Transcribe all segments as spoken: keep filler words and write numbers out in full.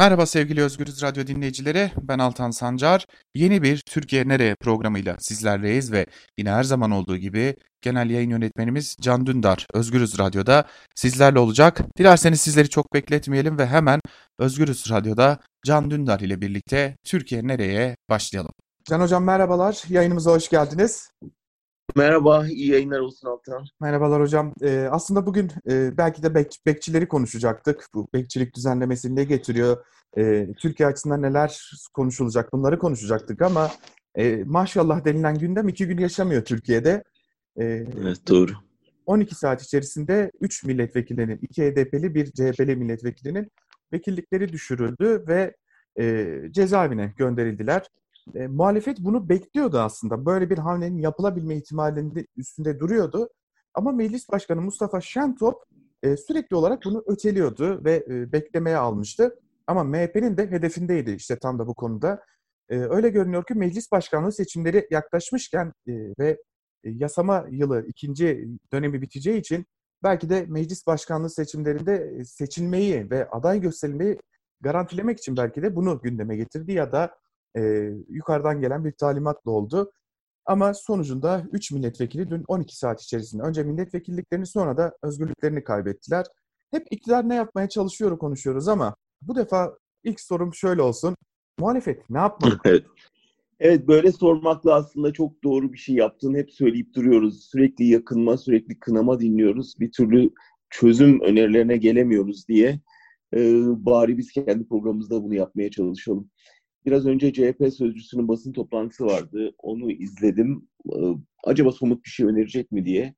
Merhaba sevgili Özgürüz Radyo dinleyicileri, ben Altan Sancar. Yeni bir Türkiye Nereye programıyla sizlerleyiz ve yine her zaman olduğu gibi genel yayın yönetmenimiz Can Dündar Özgürüz Radyo'da sizlerle olacak. Dilerseniz sizleri çok bekletmeyelim ve hemen Özgürüz Radyo'da Can Dündar ile birlikte Türkiye Nereye'ye başlayalım. Can Hocam merhabalar, yayınımıza hoş geldiniz. Merhaba, iyi yayınlar olsun Altan. Merhabalar hocam. Ee, aslında bugün e, belki de bek, bekçileri konuşacaktık. Bu bekçilik düzenlemesi ne getiriyor? Ee, Türkiye açısından neler konuşulacak? Bunları konuşacaktık ama e, maşallah denilen gündem iki gün yaşamıyor Türkiye'de. Ee, Evet, doğru. on iki saat içerisinde üç milletvekilinin, iki H D P'li bir C H P'li milletvekilinin vekillikleri düşürüldü ve e, cezaevine gönderildiler. E, muhalefet bunu bekliyordu aslında. Böyle bir hamlenin yapılabilme ihtimalinde üstünde duruyordu. Ama Meclis Başkanı Mustafa Şentop e, sürekli olarak bunu öteliyordu ve e, beklemeye almıştı. Ama M H P'nin de hedefindeydi işte tam da bu konuda. E, öyle görünüyor ki Meclis Başkanlığı seçimleri yaklaşmışken e, ve yasama yılı ikinci dönemi biteceği için belki de meclis başkanlığı seçimlerinde seçilmeyi ve aday gösterilmeyi garantilemek için belki de bunu gündeme getirdi ya da e, yukarıdan gelen bir talimatla oldu. Ama sonucunda üç milletvekili dün on iki saat içerisinde önce milletvekilliklerini sonra da özgürlüklerini kaybettiler. Hep iktidar ne yapmaya çalışıyor konuşuyoruz ama bu defa ilk sorum şöyle olsun. Muhalefet ne yapmalı? Evet. Evet, böyle sormakla aslında çok doğru bir şey yaptığını hep söyleyip duruyoruz. Sürekli yakınma, sürekli kınama dinliyoruz. Bir türlü çözüm önerilerine gelemiyoruz diye. Ee, bari biz kendi programımızda bunu yapmaya çalışalım. Biraz önce C H P sözcüsünün basın toplantısı vardı. Onu izledim. Ee, acaba somut bir şey önerecek mi diye.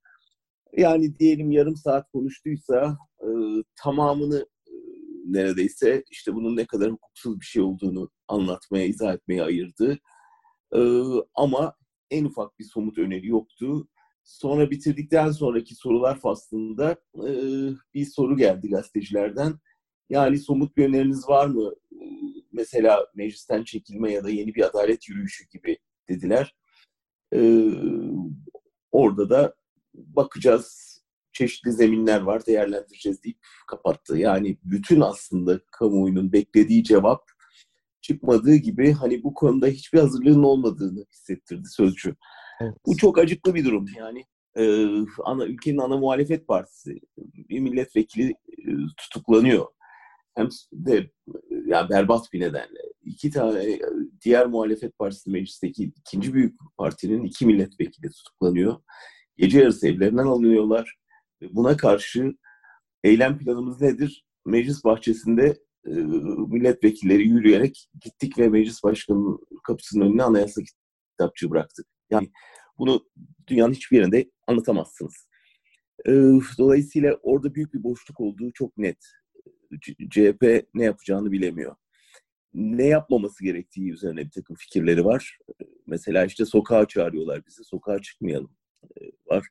Yani diyelim yarım saat konuştuysa e, tamamını e, neredeyse işte bunun ne kadar hukuksuz bir şey olduğunu anlatmaya, izah etmeye ayırdı. E, ama en ufak bir somut öneri yoktu. Sonra bitirdikten sonraki sorular faslında e, bir soru geldi gazetecilerden. Yani somut bir öneriniz var mı? E, mesela meclisten çekilme ya da yeni bir adalet yürüyüşü gibi dediler. E, orada da bakacağız, çeşitli zeminler var, değerlendireceğiz deyip kapattı. Yani bütün aslında kamuoyunun beklediği cevap çıkmadığı gibi hani bu konuda hiçbir hazırlığın olmadığını hissettirdi sözcü. Evet. Bu çok acıklı bir durum. Yani e, ana ülkenin ana muhalefet partisi bir milletvekili e, tutuklanıyor. Hem de yani berbat bir nedenle. İki tane diğer muhalefet partisi meclisteki ikinci büyük partinin iki milletvekili tutuklanıyor. Gece yarısı evlerinden alınıyorlar. Buna karşı eylem planımız nedir? Meclis bahçesinde e, milletvekilleri yürüyerek gittik ve meclis başkanının kapısının önüne anayasa kitapçığı bıraktık. Yani bunu dünyanın hiçbir yerinde anlatamazsınız. E, dolayısıyla orada büyük bir boşluk olduğu çok net. C H P ne yapacağını bilemiyor. Ne yapmaması gerektiği üzerine bir takım fikirleri var. Mesela işte sokağa çağırıyorlar bizi, sokağa çıkmayalım var.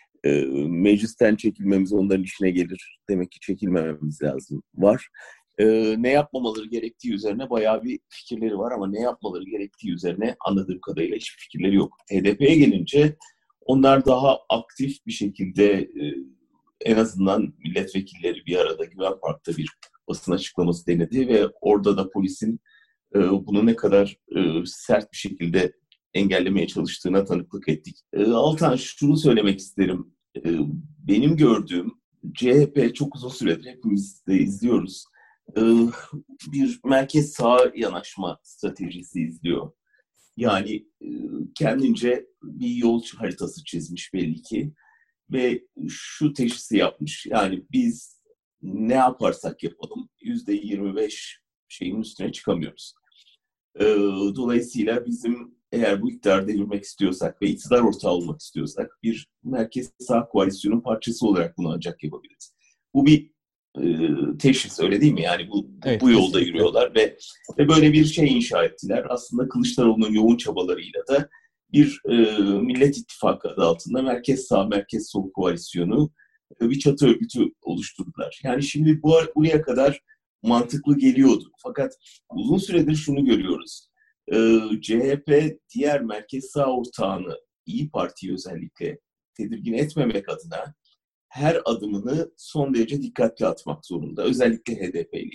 Meclisten çekilmemiz onların işine gelir. Demek ki çekilmememiz lazım var. Ne yapmamaları gerektiği üzerine bayağı bir fikirleri var ama ne yapmaları gerektiği üzerine anladığım kadarıyla hiçbir fikirleri yok. H D P'ye gelince onlar daha aktif bir şekilde en azından milletvekilleri bir arada Güven Park'ta bir basın açıklaması denedi ve orada da polisin e, bunu ne kadar e, sert bir şekilde engellemeye çalıştığına tanıklık ettik. E, Altan, şunu söylemek isterim. E, benim gördüğüm C H P çok uzun süredir hepimiz de izliyoruz. E, bir merkez sağa yanaşma stratejisi izliyor. Yani e, kendince bir yol haritası çizmiş belli ki. Ve şu teşhisi yapmış. Yani biz ne yaparsak yapalım yüzde yirmi beş şeyin üstüne çıkamıyoruz. Ee, dolayısıyla bizim eğer bu iktidarı devirmek istiyorsak ve iktidar ortağı olmak istiyorsak bir merkez sağ koalisyonun parçası olarak bunu ancak yapabiliriz. Bu bir e, teşhis, öyle değil mi? Yani bu, bu, Evet, bu yolda kesinlikle. yürüyorlar ve, ve böyle bir şey inşa ettiler. Aslında Kılıçdaroğlu'nun yoğun çabalarıyla da bir e, Millet İttifakı adı altında merkez sağ, merkez sol koalisyonu e, bir çatı örgütü oluşturdular. Yani şimdi bu buraya kadar mantıklı geliyordu. Fakat uzun süredir şunu görüyoruz. E, C H P diğer merkez sağ ortağını, İyi Parti'yi özellikle tedirgin etmemek adına her adımını son derece dikkatli atmak zorunda. Özellikle H D P ile ilgili.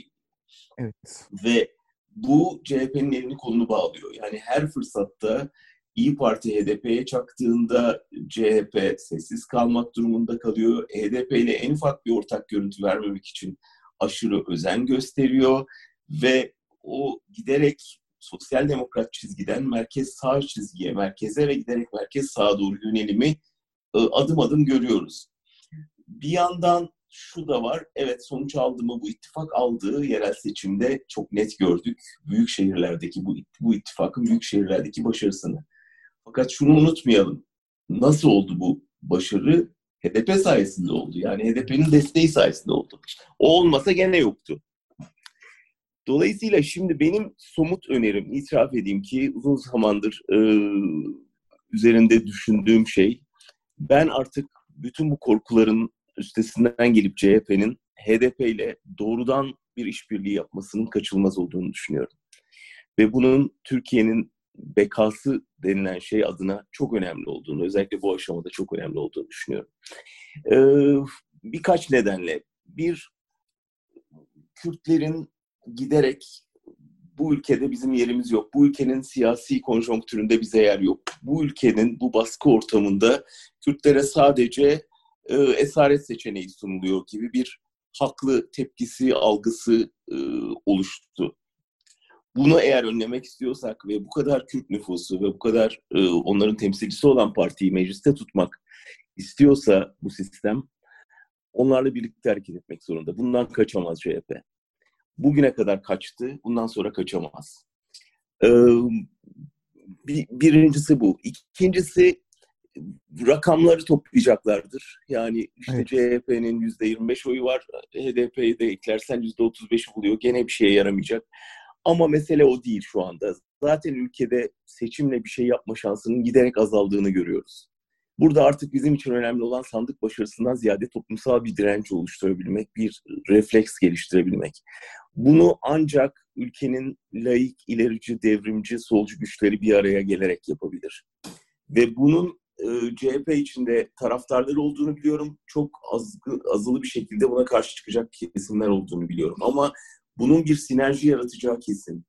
Evet. Ve bu C H P'nin elini kolunu bağlıyor. Yani her fırsatta İyi Parti H D P'ye çaktığında C H P sessiz kalmak durumunda kalıyor. H D P ile en ufak bir ortak görüntü vermemek için aşırı özen gösteriyor ve o giderek sosyal demokrat çizgiden merkez sağ çizgiye, merkeze ve giderek merkez sağa doğru yönelimi adım adım görüyoruz. Bir yandan şu da var, evet sonuç aldı mı bu ittifak aldığı yerel seçimde çok net gördük. Büyük şehirlerdeki bu, bu ittifakın büyük şehirlerdeki başarısını. Fakat şunu unutmayalım, nasıl oldu bu başarı? H D P sayesinde oldu. Yani H D P'nin desteği sayesinde oldu. O olmasa gene yoktu. Dolayısıyla şimdi benim somut önerim, itiraf edeyim ki uzun zamandır e, üzerinde düşündüğüm şey, ben artık bütün bu korkuların üstesinden gelip C H P'nin H D P ile doğrudan bir işbirliği yapmasının kaçınılmaz olduğunu düşünüyorum. Ve bunun Türkiye'nin bekası denilen şey adına çok önemli olduğunu, özellikle bu aşamada çok önemli olduğunu düşünüyorum. Ee, birkaç nedenle. Bir, Kürtlerin giderek bu ülkede bizim yerimiz yok. Bu ülkenin siyasi konjonktüründe bize yer yok. Bu ülkenin bu baskı ortamında Kürtlere sadece e, esaret seçeneği sunuluyor gibi bir haklı tepkisi, algısı e, oluştu. Bunu eğer önlemek istiyorsak ve bu kadar Kürt nüfusu ve bu kadar e, onların temsilcisi olan partiyi mecliste tutmak istiyorsa bu sistem, onlarla birlikte hareket etmek zorunda. Bundan kaçamaz C H P. Bugüne kadar kaçtı, bundan sonra kaçamaz. Ee, bir, birincisi bu. İkincisi, rakamları toplayacaklardır. Yani işte evet. C H P'nin yüzde yirmi beş oyu var, H D P'yi de eklersen yüzde otuz beşi buluyor. Gene bir şeye yaramayacak. Ama mesele o değil şu anda. Zaten ülkede seçimle bir şey yapma şansının giderek azaldığını görüyoruz. Burada artık bizim için önemli olan sandık başarısından ziyade toplumsal bir direnç oluşturabilmek, bir refleks geliştirebilmek. Bunu ancak ülkenin laik, ilerici, devrimci, solcu güçleri bir araya gelerek yapabilir. Ve bunun e, C H P içinde taraftarları olduğunu biliyorum. Çok az, azılı bir şekilde buna karşı çıkacak kesimler olduğunu biliyorum. Ama bunun bir sinerji yaratacağı kesin.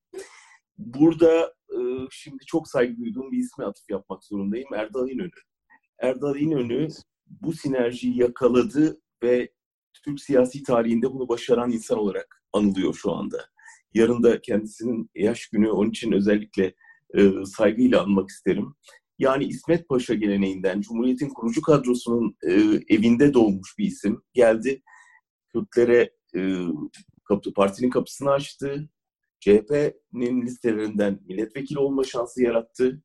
Burada e, şimdi çok saygı duyduğum bir isme atıf yapmak zorundayım. Erdal İnönü. Erdal İnönü bu sinerjiyi yakaladı ve Türk siyasi tarihinde bunu başaran insan olarak anılıyor şu anda. Yarın da kendisinin yaş günü, onun için özellikle e, saygıyla anmak isterim. Yani İsmet Paşa geleneğinden, Cumhuriyet'in kurucu kadrosunun e, evinde doğmuş bir isim. Geldi, Kürtlere e, kapı, partinin kapısını açtı. C H P'nin listelerinden milletvekili olma şansı yarattı.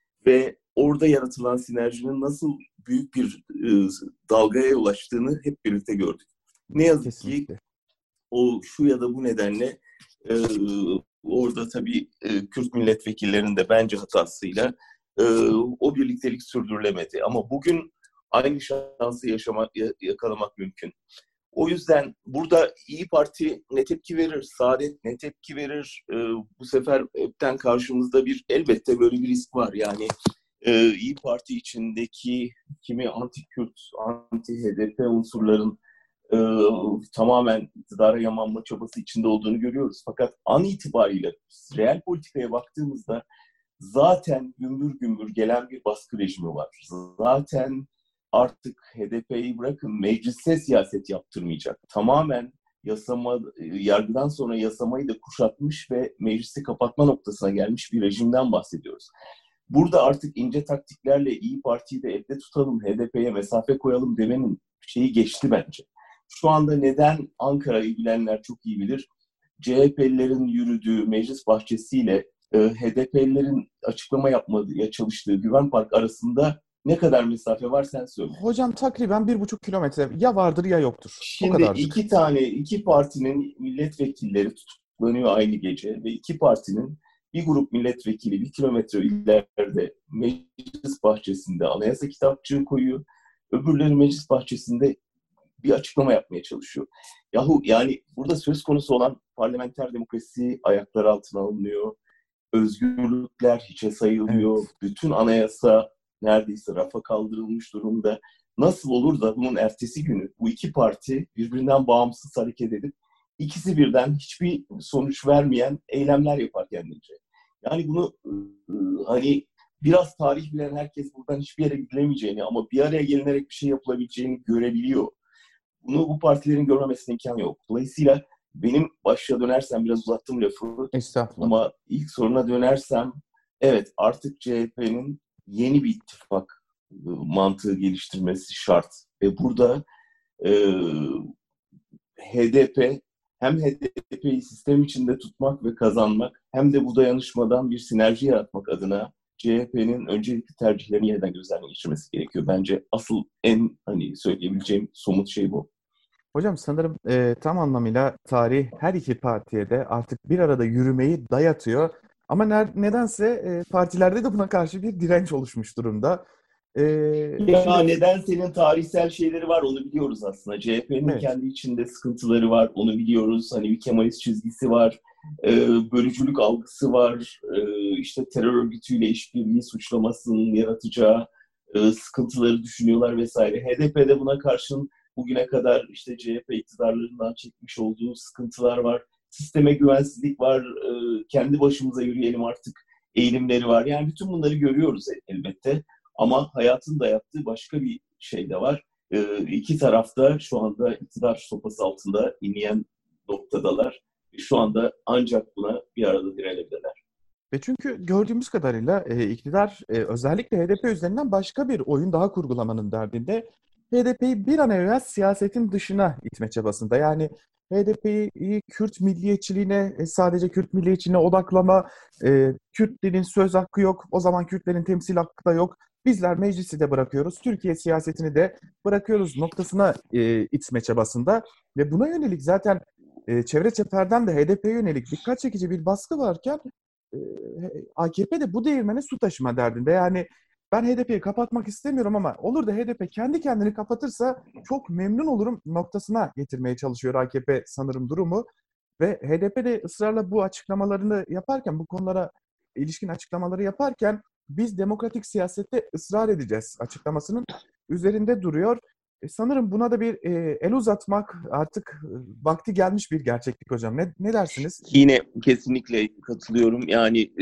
Ve orada yaratılan sinerjinin nasıl büyük bir e, dalgaya ulaştığını hep birlikte gördük. Ne yazık Kesinlikle. ki o şu ya da bu nedenle e, orada tabii e, Kürt milletvekillerinin de bence hatasıyla e, o birliktelik sürdürülemedi. Ama bugün aynı şansı yaşamak, yakalamak mümkün. O yüzden burada İyi Parti ne tepki verir, Saadet ne tepki verir? E, bu sefer hepten karşımızda bir elbette böyle bir risk var. Yani e, İyi Parti içindeki kimi anti-Kürt, anti-H D P unsurların e, tamamen iktidara yamanma çabası içinde olduğunu görüyoruz. Fakat an itibariyle reel politikaya baktığımızda zaten gümbür gümbür gelen bir baskı rejimi var. Zaten artık H D P'yi bırakın meclise siyaset yaptırmayacak. Tamamen yasama, yargıdan sonra yasamayı da kuşatmış ve meclisi kapatma noktasına gelmiş bir rejimden bahsediyoruz. Burada artık ince taktiklerle İyi Parti'yi de evde tutalım, H D P'ye mesafe koyalım demenin şeyi geçti bence. Şu anda neden Ankara'yı bilenler çok iyi bilir. C H P'lilerin yürüdüğü meclis bahçesiyle e, H D P'lilerin açıklama yapmaya çalıştığı Güven Park arasında ne kadar mesafe var sen söyle. Hocam takriben bir buçuk kilometre ya vardır ya yoktur. Şimdi iki tane, iki partinin milletvekilleri tutuklanıyor aynı gece ve iki partinin bir grup milletvekili bir kilometre ileride meclis bahçesinde anayasa kitapçığı koyuyor. Öbürleri meclis bahçesinde bir açıklama yapmaya çalışıyor. Yahu yani burada söz konusu olan parlamenter demokrasi ayaklar altına alınıyor. Özgürlükler hiçe sayılıyor. Evet. Bütün anayasa neredeyse rafa kaldırılmış durumda. Nasıl olur da bunun ertesi günü bu iki parti birbirinden bağımsız hareket edip ikisi birden hiçbir sonuç vermeyen eylemler yapar kendince. Yani bunu hani biraz tarih bilen herkes buradan hiçbir yere gidilemeyeceğini ama bir araya gelinerek bir şey yapılabileceğini görebiliyor. Bunu bu partilerin görmemesine imkan yok. Dolayısıyla benim başa dönersem, biraz uzattım lafı Estağfurullah. ama ilk soruna dönersem, evet artık C H P'nin yeni bir ittifak mantığı geliştirmesi şart. Ve burada e, H D P hem H D P'yi sistem içinde tutmak ve kazanmak hem de bu dayanışmadan bir sinerji yaratmak adına C H P'nin öncelikli tercihlerini yeniden gözden geçirmesi gerekiyor. Bence asıl en hani söyleyebileceğim somut şey bu. Hocam sanırım e, tam anlamıyla tarih her iki partiye de artık bir arada yürümeyi dayatıyor. Ama ner- nedense e, partilerde de buna karşı bir direnç oluşmuş durumda. E, Ya şimdi neden senin tarihsel şeyleri var onu biliyoruz aslında. C H P'nin evet, kendi içinde sıkıntıları var onu biliyoruz. Hani bir Kemalist çizgisi var, e, bölücülük algısı var, e, işte terör örgütüyle işbirliği suçlamasının yaratacağı e, sıkıntıları düşünüyorlar vesaire. H D P'de buna karşın bugüne kadar işte C H P iktidarlarından çekmiş olduğu sıkıntılar var. Sisteme güvensizlik var, e, kendi başımıza yürüyelim artık eğilimleri var. Yani bütün bunları görüyoruz elbette. Ama hayatın dayattığı başka bir şey de var. Ee, iki tarafta şu anda iktidar sopası altında inleyen noktadalar. Şu anda ancak buna bir arada direnebilirler. ve çünkü gördüğümüz kadarıyla e, iktidar e, özellikle H D P üzerinden başka bir oyun daha kurgulamanın derdinde. H D P'yi bir an evvel siyasetin dışına itme çabasında. Yani H D P'yi Kürt milliyetçiliğine, e, sadece Kürt milliyetçiliğine odaklama, e, Kürtlerin söz hakkı yok, o zaman Kürtlerin temsil hakkı da yok. Bizler meclisi de bırakıyoruz, Türkiye siyasetini de bırakıyoruz noktasına e, itme çabasında. Ve buna yönelik zaten e, çevre çeperden de H D P'ye yönelik dikkat çekici bir baskı varken e, A K P de bu değirmene su taşıma derdinde. Yani ben H D P'yi kapatmak istemiyorum ama olur da H D P kendi kendini kapatırsa çok memnun olurum noktasına getirmeye çalışıyor A K P sanırım durumu. Ve H D P de ısrarla bu açıklamalarını yaparken, bu konulara ilişkin açıklamaları yaparken biz demokratik siyasette ısrar edeceğiz açıklamasının üzerinde duruyor. E, sanırım buna da bir e, el uzatmak artık e, vakti gelmiş bir gerçeklik hocam. Ne, ne dersiniz? Yine kesinlikle katılıyorum. Yani e,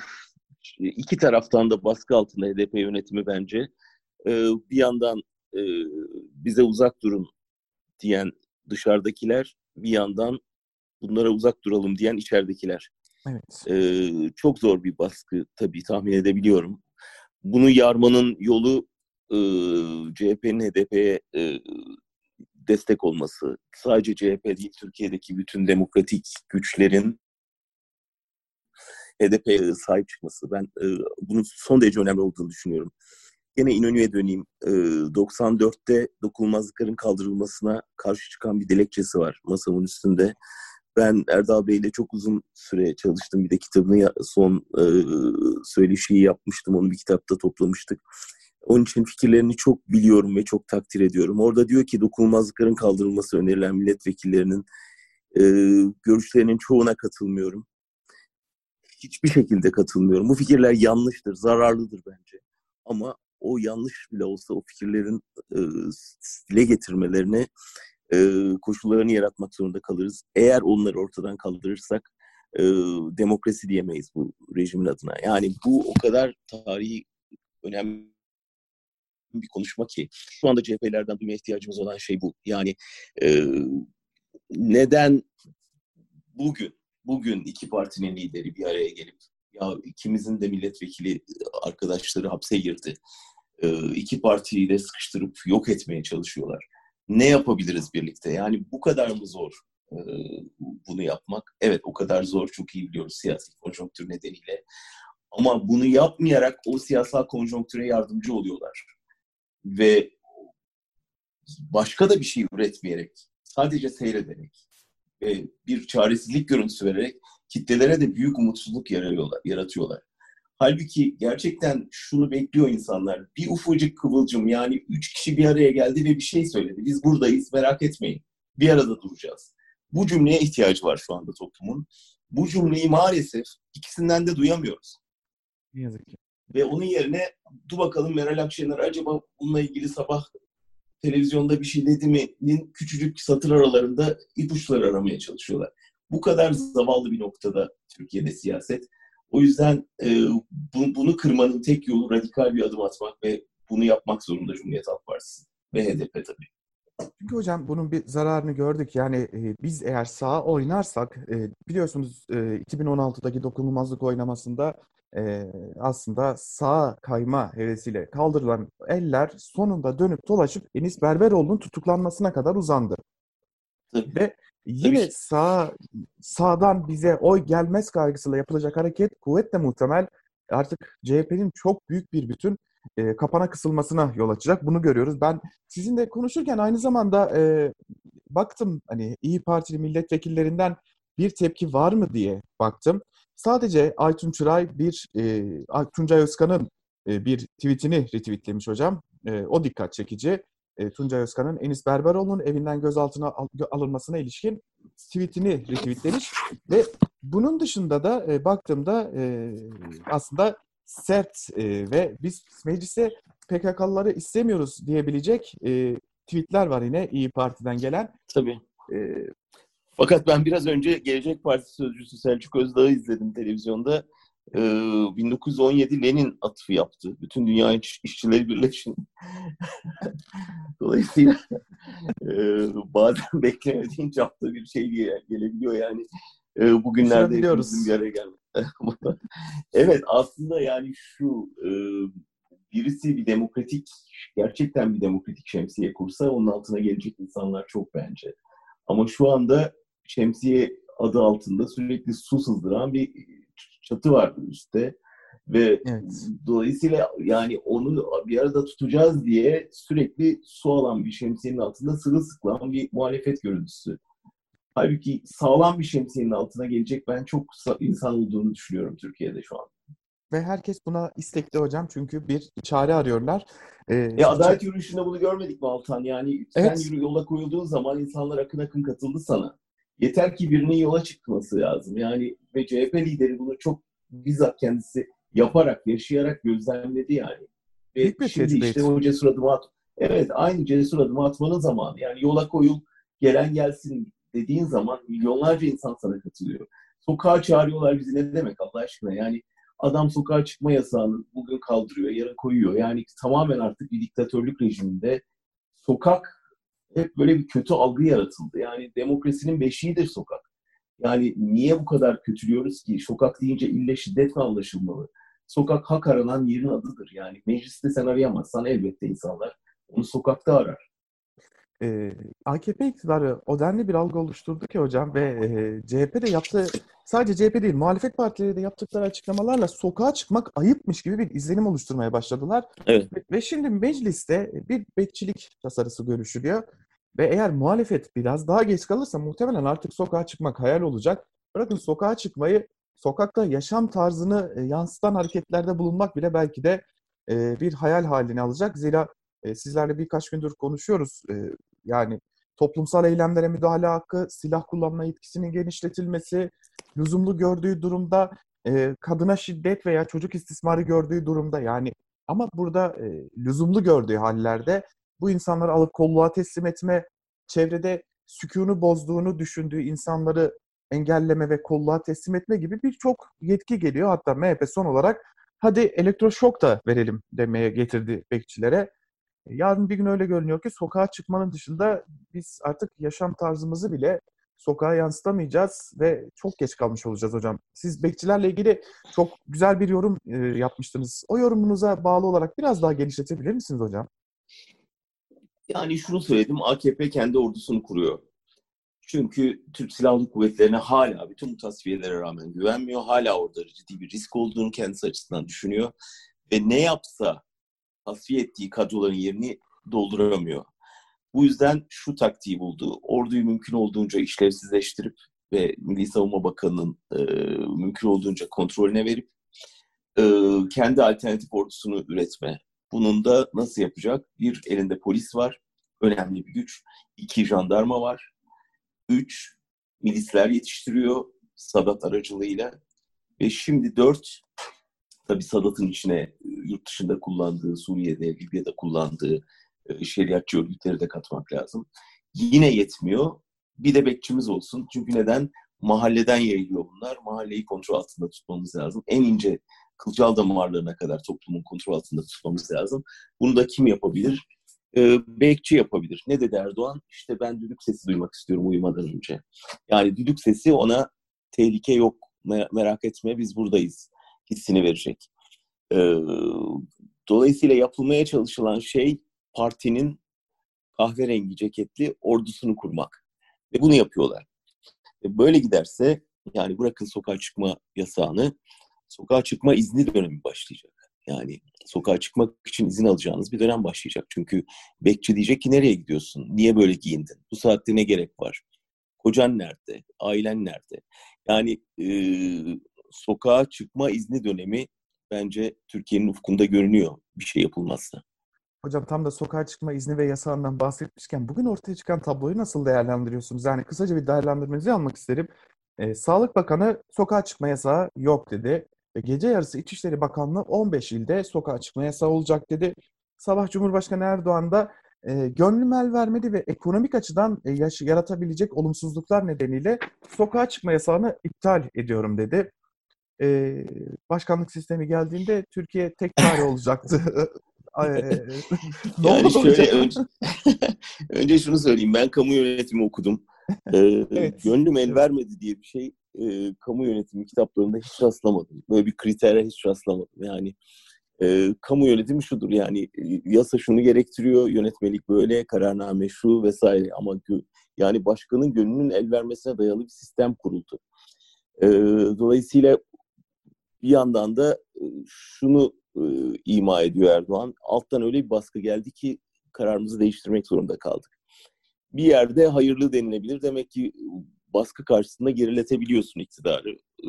iki taraftan da baskı altında H D P yönetimi bence. E, bir yandan e, bize uzak durun diyen dışarıdakiler, bir yandan bunlara uzak duralım diyen içeridekiler. Evet. E, çok zor bir baskı tabii, tahmin edebiliyorum. Bunu yarmanın yolu e, C H P'nin H D P'ye e, destek olması. Sadece C H P değil, Türkiye'deki bütün demokratik güçlerin H D P'ye sahip çıkması. Ben e, bunun son derece önemli olduğunu düşünüyorum. Yine İnönü'ye döneyim. E, doksan dörtte dokunulmazlıkların kaldırılmasına karşı çıkan bir dilekçesi var masamın üstünde. Ben Erdal Bey'le çok uzun süre çalıştım. Bir de kitabını son e, söyleşiyi yapmıştım. Onu bir kitapta toplamıştık. Onun için fikirlerini çok biliyorum ve çok takdir ediyorum. Orada diyor ki dokunulmazlıkların kaldırılması önerilen milletvekillerinin e, görüşlerinin çoğuna katılmıyorum. Hiçbir şekilde katılmıyorum. Bu fikirler yanlıştır, zararlıdır bence. Ama o yanlış bile olsa o fikirlerin e, dile getirmelerine e, koşullarını yaratmak zorunda kalırız. Eğer onları ortadan kaldırırsak e, demokrasi diyemeyiz bu rejimin adına. Yani bu o kadar tarihi önemli bir konuşma ki. Şu anda C H P'lerden duymaya ihtiyacımız olan şey bu. Yani e, neden bugün bugün iki partinin lideri bir araya gelip ya ikimizin de milletvekili arkadaşları hapse girdi. E, iki partiyi de sıkıştırıp yok etmeye çalışıyorlar. Ne yapabiliriz birlikte? Yani bu kadar mı zor e, bunu yapmak? Evet, o kadar zor, çok iyi biliyoruz siyasi konjonktür nedeniyle. Ama bunu yapmayarak o siyasal konjonktüre yardımcı oluyorlar. Ve başka da bir şey üretmeyerek, sadece seyrederek ve bir çaresizlik görüntüsü vererek kitlelere de büyük umutsuzluk yaratıyorlar. Halbuki gerçekten şunu bekliyor insanlar. Bir ufacık kıvılcım, yani üç kişi bir araya geldi ve bir şey söyledi. Biz buradayız, merak etmeyin. Bir arada duracağız. Bu cümleye ihtiyacı var şu anda toplumun. Bu cümleyi maalesef ikisinden de duyamıyoruz. Ne yazık ki. Ve onun yerine dur bakalım Meral Akşener acaba bununla ilgili sabah televizyonda bir şey dedi mi'nin küçücük satır aralarında ipuçları aramaya çalışıyorlar. Bu kadar zavallı bir noktada Türkiye'de siyaset. O yüzden e, bu, bunu kırmanın tek yolu radikal bir adım atmak ve bunu yapmak zorunda Cumhuriyet Halk Partisi ve H D P tabii. Çünkü hocam bunun bir zararını gördük. Yani e, biz eğer sağa oynarsak e, biliyorsunuz e, iki bin on altıdaki dokunulmazlık oylamasında e, aslında sağa kayma hevesiyle kaldırılan eller sonunda dönüp dolaşıp Enis Berberoğlu'nun tutuklanmasına kadar uzandı. Tabii, Ve tabii yine ki. sağ sağdan bize oy gelmez kaygısıyla yapılacak hareket kuvvetle muhtemel artık C H P'nin çok büyük bir bütün e, kapana kısılmasına yol açacak. Bunu görüyoruz. Ben sizinle konuşurken aynı zamanda e, baktım hani İyi Partili milletvekillerinden bir tepki var mı diye baktım. Sadece Aytun Çıray bir e, Ay- Tuncay Özkan'ın e, bir tweetini retweetlemiş hocam. E, o dikkat çekici. E, Tuncay Özkan'ın Enis Berberoğlu'nun evinden gözaltına al- alınmasına ilişkin tweetini retweetlemiş ve bunun dışında da e, baktığımda e, aslında sert e, ve biz meclise P K K'lıları istemiyoruz diyebilecek e, tweetler var yine İyi Parti'den gelen. Tabii. E, Fakat ben biraz önce Gelecek Partisi sözcüsü Selçuk Özdağ'ı izledim televizyonda. Ee, bin dokuz yüz on yedi Lenin atıfı yaptı. Bütün dünya iş, işçileri birleşin. Dolayısıyla e, bazen beklemediğin çapta bir şey diye gelebiliyor yani. E, bugünlerde hepimizin bir düşünebiliyoruz. araya gelmesi. Evet, aslında yani şu e, birisi bir demokratik, gerçekten bir demokratik şemsiye kursa onun altına gelecek insanlar çok bence. Ama şu anda şemsiye adı altında sürekli su sızdıran bir çatı var üstte. Ve Evet. dolayısıyla yani onu bir arada tutacağız diye sürekli su alan bir şemsiyenin altında sırılsıklam bir muhalefet görüntüsü. Halbuki sağlam bir şemsiyenin altına gelecek ben çok insan olduğunu düşünüyorum Türkiye'de şu an. Ve herkes buna istekli hocam çünkü bir çare arıyorlar. E, E şimdi ça- adalet yürüyüşünde bunu görmedik mi Altan? Yani sen evet. yürü yola koyulduğun zaman insanlar akın akın katıldı sana. Yeter ki birinin yola çıkması lazım. Yani ve C H P lideri bunu çok bizzat kendisi yaparak, yaşayarak gözlemledi yani. Ve Büyük bir şimdi işte tecrübeyet. o cesur adımı at. Evet, aynı cesur adımı atmanın zamanı. Yani yola koyul, gelen gelsin dediğin zaman milyonlarca insan sana katılıyor. Sokağa çağırıyorlar bizi ne demek Allah aşkına? Yani adam sokağa çıkma yasağını bugün kaldırıyor, yarın koyuyor. Yani tamamen artık bir diktatörlük rejiminde sokak hep böyle bir kötü algı yaratıldı. Yani demokrasinin beşiğidir sokak. Yani niye bu kadar kötülüyoruz ki? Sokak deyince ille şiddet mi anlaşılmalı? Sokak hak aranan yerin adıdır. Yani mecliste sen arayamazsan elbette insanlar onu sokakta arar. e, A K P iktidarı o denli bir algı oluşturdu ki hocam ve e, C H P de yaptığı sadece C H P değil muhalefet partileri de yaptıkları açıklamalarla sokağa çıkmak ayıpmış gibi bir izlenim oluşturmaya başladılar. Evet. Ve, ve şimdi mecliste bir bekçilik tasarısı görüşülüyor ve eğer muhalefet biraz daha geç kalırsa muhtemelen artık sokağa çıkmak hayal olacak. Bırakın sokağa çıkmayı sokakta yaşam tarzını e, yansıtan hareketlerde bulunmak bile belki de e, bir hayal haline alacak. Zira e, sizlerle birkaç gündür konuşuyoruz. E, yani toplumsal eylemlere müdahale hakkı, silah kullanma yetkisinin genişletilmesi, lüzumlu gördüğü durumda e, kadına şiddet veya çocuk istismarı gördüğü durumda yani ama burada e, lüzumlu gördüğü hallerde bu insanları alıp kolluğa teslim etme, çevrede sükûnu bozduğunu düşündüğü insanları engelleme ve kolluğa teslim etme gibi birçok yetki geliyor. Hatta M H P son olarak hadi elektroşok da verelim demeye getirdi bekçilere. Yarın bir gün öyle görünüyor ki sokağa çıkmanın dışında biz artık yaşam tarzımızı bile sokağa yansıtamayacağız ve çok geç kalmış olacağız hocam. Siz bekçilerle ilgili çok güzel bir yorum e, yapmıştınız. O yorumunuza bağlı olarak biraz daha genişletebilir misiniz hocam? Yani şunu söyledim, A K P kendi ordusunu kuruyor. Çünkü Türk Silahlı Kuvvetleri'ne hala bütün bu tasfiyelere rağmen güvenmiyor. Hala orada ciddi bir risk olduğunu kendisi açısından düşünüyor. Ve ne yapsa tasfiye ettiği kadroların yerini dolduramıyor. Bu yüzden şu taktiği buldu. Orduyu mümkün olduğunca işlevsizleştirip ve Milli Savunma Bakanı'nın e, mümkün olduğunca kontrolüne verip e, kendi alternatif ordusunu üretme. Bunun da nasıl yapacak? Bir, elinde polis var. Önemli bir güç. İki, jandarma var. Üç, milisler yetiştiriyor Sadat aracılığıyla. Ve şimdi dört, tabii Sadat'ın içine yurt dışında kullandığı, Suriye'de, Libya'da kullandığı e, şeriatçı örgütleri de katmak lazım. Yine yetmiyor. Bir de bekçimiz olsun. Çünkü neden? Mahalleden yayılıyor bunlar. Mahalleyi kontrol altında tutmamız lazım. En ince kılcal damarlarına kadar toplumun kontrol altında tutmamız lazım. Bunu da kim yapabilir? Ee, bekçi yapabilir. Ne dedi Erdoğan? İşte ben düdük sesi duymak istiyorum uyumadan önce. Yani düdük sesi ona tehlike yok, merak etme biz buradayız hissini verecek. Ee, dolayısıyla yapılmaya çalışılan şey partinin kahverengi ceketli ordusunu kurmak. Ve bunu yapıyorlar. E böyle giderse yani bırakın sokağa çıkma yasağını, sokağa çıkma izni dönemi başlayacak. Yani sokağa çıkmak için izin alacağınız bir dönem başlayacak. Çünkü bekçi diyecek ki nereye gidiyorsun? Niye böyle giyindin? Bu saatte ne gerek var? Kocan nerede? Ailen nerede? Yani e, sokağa çıkma izni dönemi bence Türkiye'nin ufkunda görünüyor bir şey yapılmazsa. Hocam tam da sokağa çıkma izni ve yasağından bahsetmişken bugün ortaya çıkan tabloyu nasıl değerlendiriyorsunuz? Yani kısaca bir değerlendirmenizi almak isterim. Ee, Sağlık Bakanı sokağa çıkma yasağı yok dedi. Ve gece yarısı İçişleri Bakanlığı on beş ilde sokağa çıkma yasağı olacak dedi. Sabah Cumhurbaşkanı Erdoğan da e, gönlüm el vermedi ve ekonomik açıdan e, yaş- yaratabilecek olumsuzluklar nedeniyle sokağa çıkma yasağını iptal ediyorum dedi. E, Başkanlık sistemi geldiğinde Türkiye tek çare olacaktı. Ay, ne Yani oldu şöyle hocam? önce, önce şunu söyleyeyim. Ben kamu yönetimi okudum. Ee, Evet. gönlüm el Evet. vermedi diye bir şey e, kamu yönetimi kitaplarında hiç rastlamadım. Böyle bir kritere hiç rastlamadım. Yani e, kamu yönetimi şudur yani e, yasa şunu gerektiriyor, yönetmelik böyle, kararname şu vesaire ama gö- yani başkanın gönlünün el vermesine dayalı bir sistem kuruldu. E, dolayısıyla bir yandan da e, şunu e, ima ediyor Erdoğan. Alttan öyle bir baskı geldi ki kararımızı değiştirmek zorunda kaldık. Bir yerde hayırlı denilebilir. Demek ki baskı karşısında geriletebiliyorsun iktidarı. E,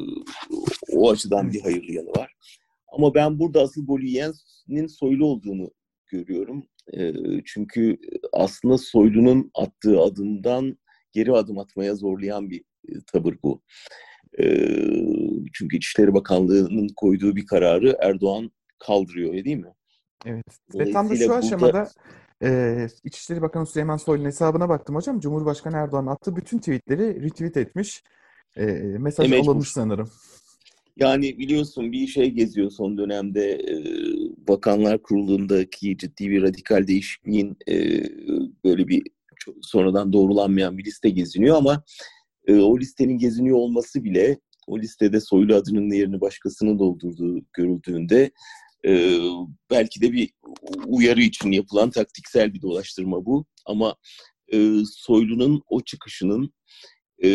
o açıdan Evet. bir hayırlı yanı var. Ama ben burada asıl golü yiyenin Soylu olduğunu görüyorum. E, çünkü aslında Soylu'nun attığı adımdan geri adım atmaya zorlayan bir e, tavır bu. E, çünkü İçişleri Bakanlığı'nın koyduğu bir kararı Erdoğan kaldırıyor, değil mi? Evet. Ve tam da şu Dolayısıyla burada aşamada e, İçişleri Bakanı Süleyman Soylu'nun hesabına baktım hocam. Cumhurbaşkanı Erdoğan attığı bütün tweetleri retweet etmiş. E, e, mesaj alınmış mecbur. sanırım. Yani biliyorsun bir şey geziyor son dönemde e, Bakanlar Kurulu'ndaki ciddi bir radikal değişikliğin e, böyle bir çok sonradan doğrulanmayan bir liste geziniyor ama e, o listenin geziniyor olması bile o listede Soylu adının yerini başkasının doldurduğu görüldüğünde e, belki de bir uyarı için yapılan taktiksel bir dolaştırma bu ama e, Soylu'nun o çıkışının e,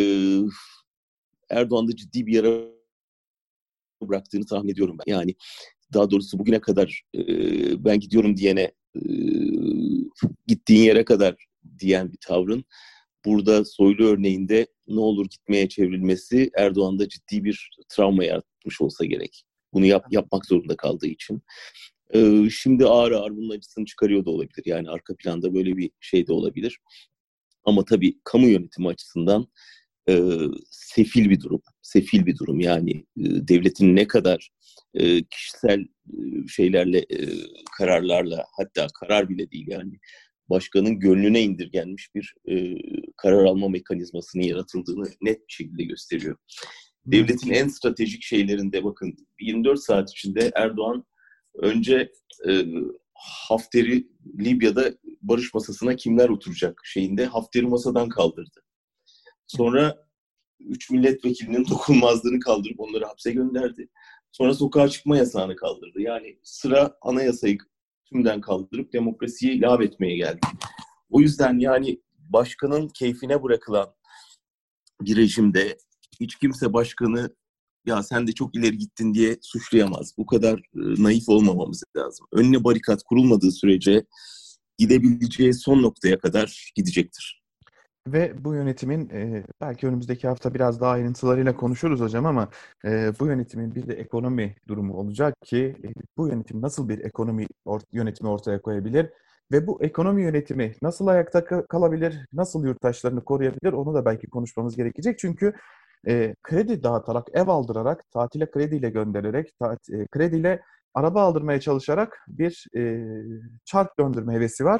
Erdoğan'da ciddi bir yara bıraktığını tahmin ediyorum ben. Yani daha doğrusu bugüne kadar e, ben gidiyorum diyene e, gittiğin yere kadar diyen bir tavrın burada Soylu örneğinde ne olur gitmeye çevrilmesi Erdoğan'da ciddi bir travma yaratmış olsa gerek. Bunu yap, yapmak zorunda kaldığı için. E, şimdi ağır ağır bunun acısını çıkarıyor da olabilir. Yani arka planda böyle bir şey de olabilir. Ama tabii kamu yönetimi açısından e, sefil bir durum. Sefil bir durum. Yani e, devletin ne kadar e, kişisel e, şeylerle, e, kararlarla hatta karar bile değil yani başkanın gönlüne indirgenmiş bir e, karar alma mekanizmasının yaratıldığını net bir şekilde gösteriyor. Ne yazık Devletin ki. en stratejik şeylerinde bakın yirmi dört saat içinde Erdoğan önce e, Hafter'i Libya'da barış masasına kimler oturacak şeyinde Hafter'i masadan kaldırdı. Sonra üç milletvekilinin dokunulmazlığını kaldırıp onları hapse gönderdi. Sonra sokağa çıkma yasağını kaldırdı. Yani sıra anayasayı tümden kaldırıp demokrasiyi lağvetmeye geldi. O yüzden yani başkanın keyfine bırakılan bir rejimde hiç kimse başkanı ya sen de çok ileri gittin diye suçlayamaz. Bu kadar e, naif olmamamız lazım. Önüne barikat kurulmadığı sürece gidebileceği son noktaya kadar gidecektir. Ve bu yönetimin e, belki önümüzdeki hafta biraz daha ayrıntılarıyla konuşuruz hocam ama e, bu yönetimin bir de ekonomi durumu olacak ki e, bu yönetim nasıl bir ekonomi or- yönetimi ortaya koyabilir ve bu ekonomi yönetimi nasıl ayakta ka- kalabilir, nasıl yurttaşlarını koruyabilir onu da belki konuşmamız gerekecek. Çünkü e, kredi dağıtarak, ev aldırarak, tatile krediyle göndererek, tat- e, krediyle araba aldırmaya çalışarak bir e, çark döndürme hevesi var.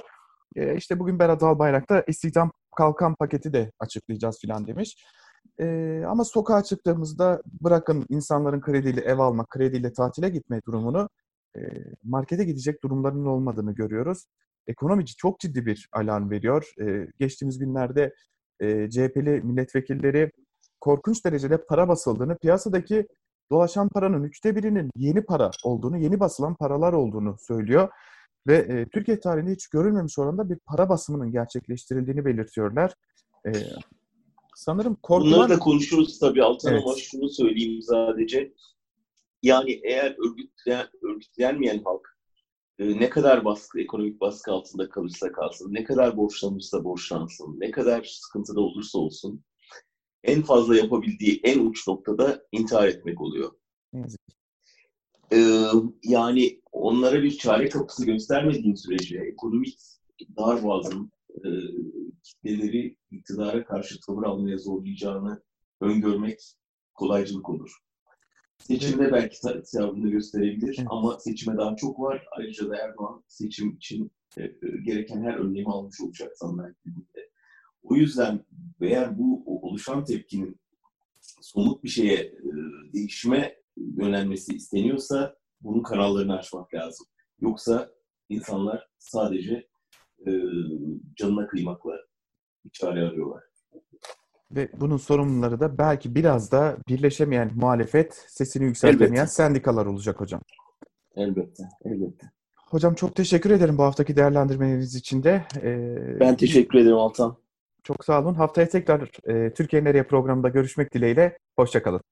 E, işte bugün Berat Albayrak da istihdam kalkan paketi de açıklayacağız filan demiş. E, ama sokağa çıktığımızda bırakın insanların krediyle ev alma, krediyle tatile gitme durumunu, e, markete gidecek durumlarının olmadığını görüyoruz. Ekonomi çok ciddi bir alarm veriyor. E, geçtiğimiz günlerde e, C H P'li milletvekilleri korkunç derecede para basıldığını, piyasadaki dolaşan paranın üçte birinin yeni para olduğunu, yeni basılan paralar olduğunu söylüyor. Ve e, Türkiye tarihinde hiç görülmemiş oranda bir para basımının gerçekleştirildiğini belirtiyorlar. E, sanırım Bunları korkulan... da konuşuruz tabii Altan, ama Evet. şunu söyleyeyim sadece. Yani eğer örgütlen, örgütlenmeyen halk e, ne kadar baskı, ekonomik baskı altında kalırsa kalsın, ne kadar borçlanırsa borçlansın, ne kadar sıkıntıda olursa olsun, en fazla yapabildiği en uç noktada intihar etmek oluyor. Ne yazık ki. Ee, yani onlara bir çare kapısı göstermediğin sürece ekonomik darboğazın e, kitleleri iktidara karşı tavır almaya zorlayacağını öngörmek kolaycılık olur. Ve, Seçimde belki tavrını gösterebilir evet. ama seçime daha çok var. Ayrıca da Erdoğan seçim için e, e, gereken her önlemi almış olacak sandık dilinde. O yüzden eğer bu oluşan tepkinin somut bir şeye, e, değişime yönelmesi isteniyorsa bunun kanallarını açmak lazım. Yoksa insanlar sadece e, canına kıymakla bir çare arıyorlar. Ve bunun sorumluları da belki biraz da birleşemeyen muhalefet, sesini yükseltemeyen Elbette. sendikalar olacak hocam. Elbette. Elbette. Hocam çok teşekkür ederim bu haftaki değerlendirmeleriniz için de. Ee, Ben biz teşekkür ederim Altan. çok sağ olun. Haftaya tekrar e, Türkiye Nereye programında görüşmek dileğiyle. Hoşça kalın.